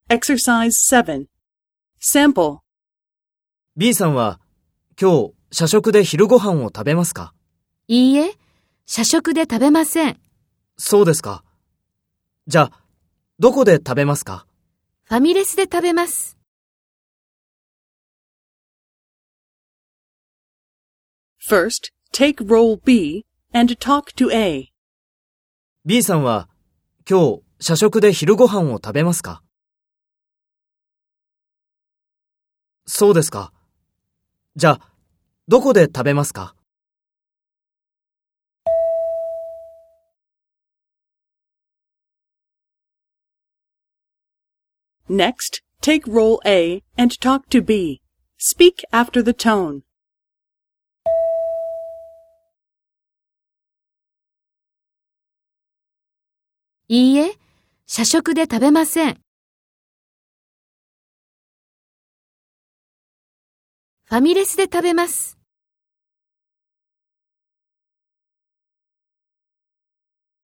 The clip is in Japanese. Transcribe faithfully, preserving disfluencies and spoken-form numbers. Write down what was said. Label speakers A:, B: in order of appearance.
A: Exercise seven. Sample.
B: B さんは今日社食で昼ご飯を食べますか？
C: いいえ、社食で食べません。
B: そうですか。じゃあ、どこで食べますか？
C: ファミレスで食べます。
A: First, take role B and talk to A.
B: B さんは今日社食で昼ご飯を食べますか？そうですか。じゃあ、どこで食べますか？
A: Next, take role A and talk to B. Speak after the tone.
C: いいえ、社食で食べません。ファミレスで食べます。